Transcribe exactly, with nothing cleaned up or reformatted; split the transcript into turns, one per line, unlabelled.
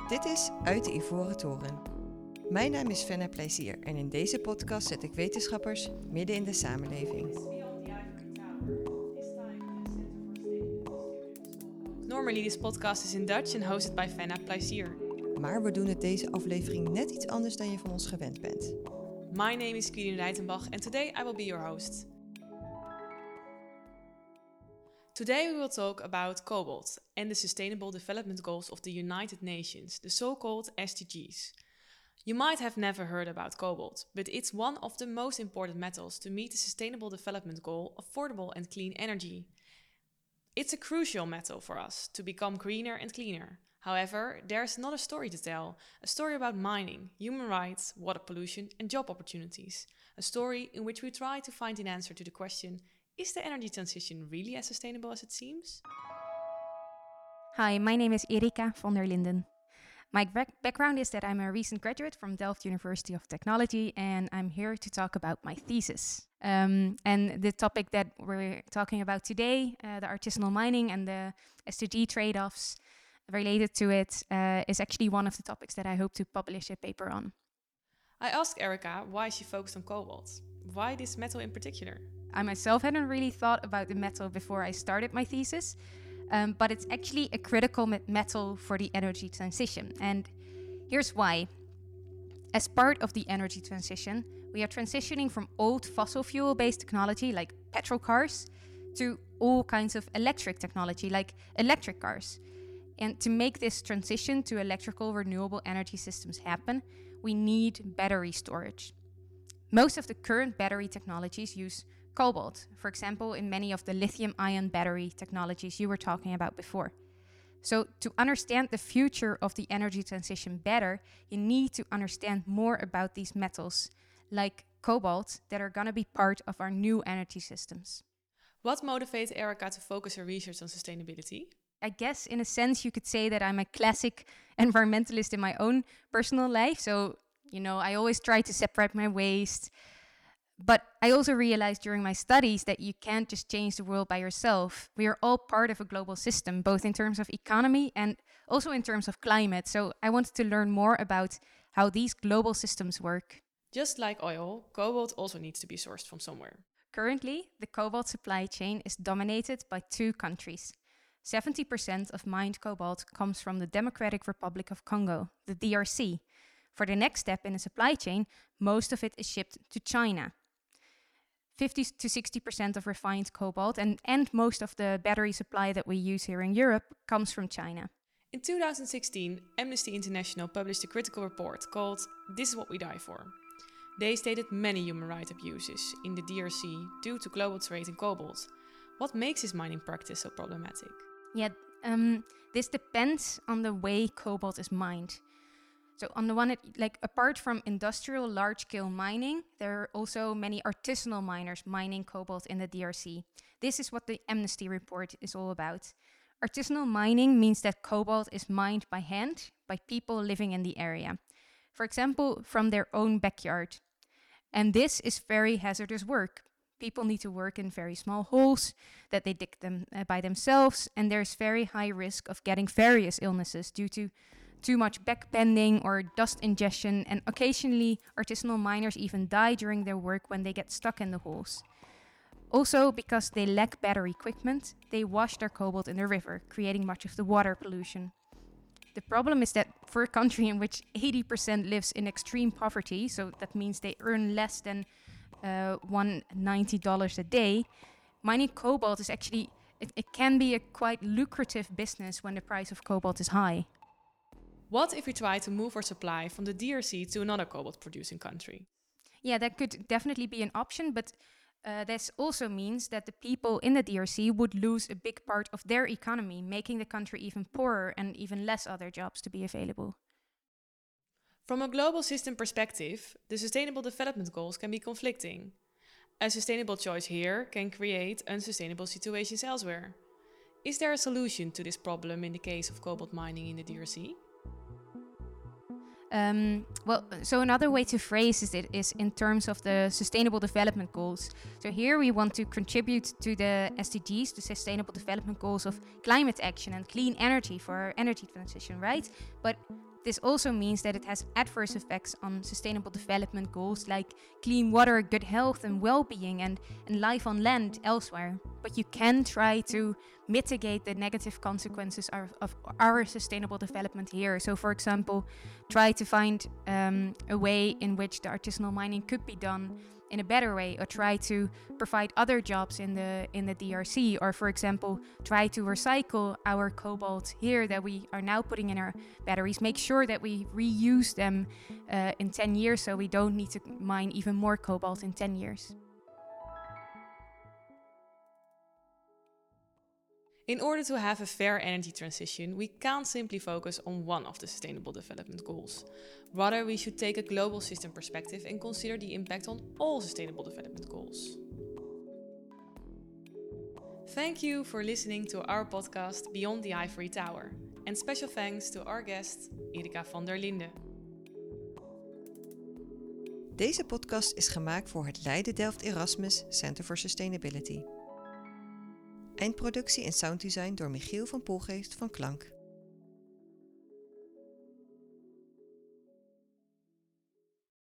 Dit is Uit de Ivoren Toren. Mijn naam is Fenna Plezier en in deze podcast zet ik wetenschappers midden in de samenleving.
Normally this podcast is in Dutch and hosted by Fenna Plezier.
Maar we doen het deze aflevering net iets anders dan je van ons gewend bent.
My name is Quirin Reitenbach and today I will be your host. Today we will talk about cobalt and the Sustainable Development Goals of the United Nations, the so-called S D Gs. You might have never heard about cobalt, but it's one of the most important metals to meet the Sustainable Development Goal, affordable and clean energy. It's a crucial metal for us to become greener and cleaner. However, there's not a story to tell, a story about mining, human rights, water pollution and job opportunities. A story in which we try to find an answer to the question, is the energy transition really as sustainable as it seems?
Hi, my name is Erika van der Linden. My back- background is that I'm a recent graduate from Delft University of Technology, and I'm here to talk about my thesis. Um, and the topic that we're talking about today, uh, the artisanal mining and the S D G trade-offs related to it, uh, is actually one of the topics that I hope to publish a paper on.
I asked Erika why she focused on cobalt. Why this metal in particular?
I myself hadn't really thought about the metal before I started my thesis, um, but it's actually a critical me- metal for the energy transition. And here's why. As part of the energy transition, we are transitioning from old fossil fuel-based technology like petrol cars to all kinds of electric technology like electric cars. And to make this transition to electrical renewable energy systems happen, we need battery storage. Most of the current battery technologies use cobalt, for example, in many of the lithium-ion battery technologies you were talking about before. So to understand the future of the energy transition better, you need to understand more about these metals, like cobalt, that are going to be part of our new energy systems.
What motivates Erika to focus her research on sustainability?
I guess in a sense you could say that I'm a classic environmentalist in my own personal life. So, you know, I always try to separate my waste. But I also realized during my studies that you can't just change the world by yourself. We are all part of a global system, both in terms of economy and also in terms of climate. So I wanted to learn more about how these global systems work.
Just like oil, cobalt also needs to be sourced from somewhere.
Currently, the cobalt supply chain is dominated by two countries. seventy percent of mined cobalt comes from the Democratic Republic of Congo, the D R C. For the next step in the supply chain, most of it is shipped to China. fifty to sixty percent of refined cobalt and, and most of the battery supply that we use here in Europe comes from China.
In two thousand sixteen, Amnesty International published a critical report called This is What We Die For. They stated many human rights abuses in the D R C due to global trade in cobalt. What makes this mining practice so problematic?
Yeah, um, this depends on the way cobalt is mined. So on the one, like apart from industrial large-scale mining, there are also many artisanal miners mining cobalt in the D R C. This is what the Amnesty report is all about. Artisanal mining means that cobalt is mined by hand by people living in the area. For example, from their own backyard. And this is very hazardous work. People need to work in very small holes that they dig them uh, by themselves, and there's very high risk of getting various illnesses due to too much backbending or dust ingestion, and occasionally artisanal miners even die during their work when they get stuck in the holes. Also, because they lack better equipment, they wash their cobalt in the river, creating much of the water pollution. The problem is that for a country in which eighty percent lives in extreme poverty, so that means they earn less than uh, one hundred ninety dollars a day, mining cobalt is actually, it, it can be a quite lucrative business when the price of cobalt is high.
What if we try to move our supply from the D R C to another cobalt-producing country?
Yeah, that could definitely be an option, but uh, this also means that the people in the D R C would lose a big part of their economy, making the country even poorer and even less other jobs to be available.
From a global system perspective, the Sustainable Development Goals can be conflicting. A sustainable choice here can create unsustainable situations elsewhere. Is there a solution to this problem in the case of cobalt mining in the D R C?
Um, well, so another way to phrase it is in terms of the Sustainable Development Goals. So here we want to contribute to the S D Gs, the Sustainable Development Goals of climate action and clean energy for our energy transition, right? But This also means that it has adverse effects on sustainable development goals like clean water, good health and well-being, and, and life on land elsewhere. But you can try to mitigate the negative consequences of, of our sustainable development here. So for example, try to find um, a way in which the artisanal mining could be done in a better way, or try to provide other jobs in the in the D R C, or for example try to recycle our cobalt here that we are now putting in our batteries, make sure that we reuse them uh, in ten years so we don't need to mine even more cobalt in ten years.
In order to have a fair energy transition, we can't simply focus on one of the Sustainable Development Goals. Rather, we should take a global system perspective and consider the impact on all Sustainable Development Goals. Thank you for listening to our podcast Beyond the Ivory Tower. And special thanks to our guest, Erika van der Linden.
Deze podcast is gemaakt voor het Leiden Delft Erasmus Center for Sustainability. Eindproductie en sounddesign door Michiel van Poelgeest van Klank.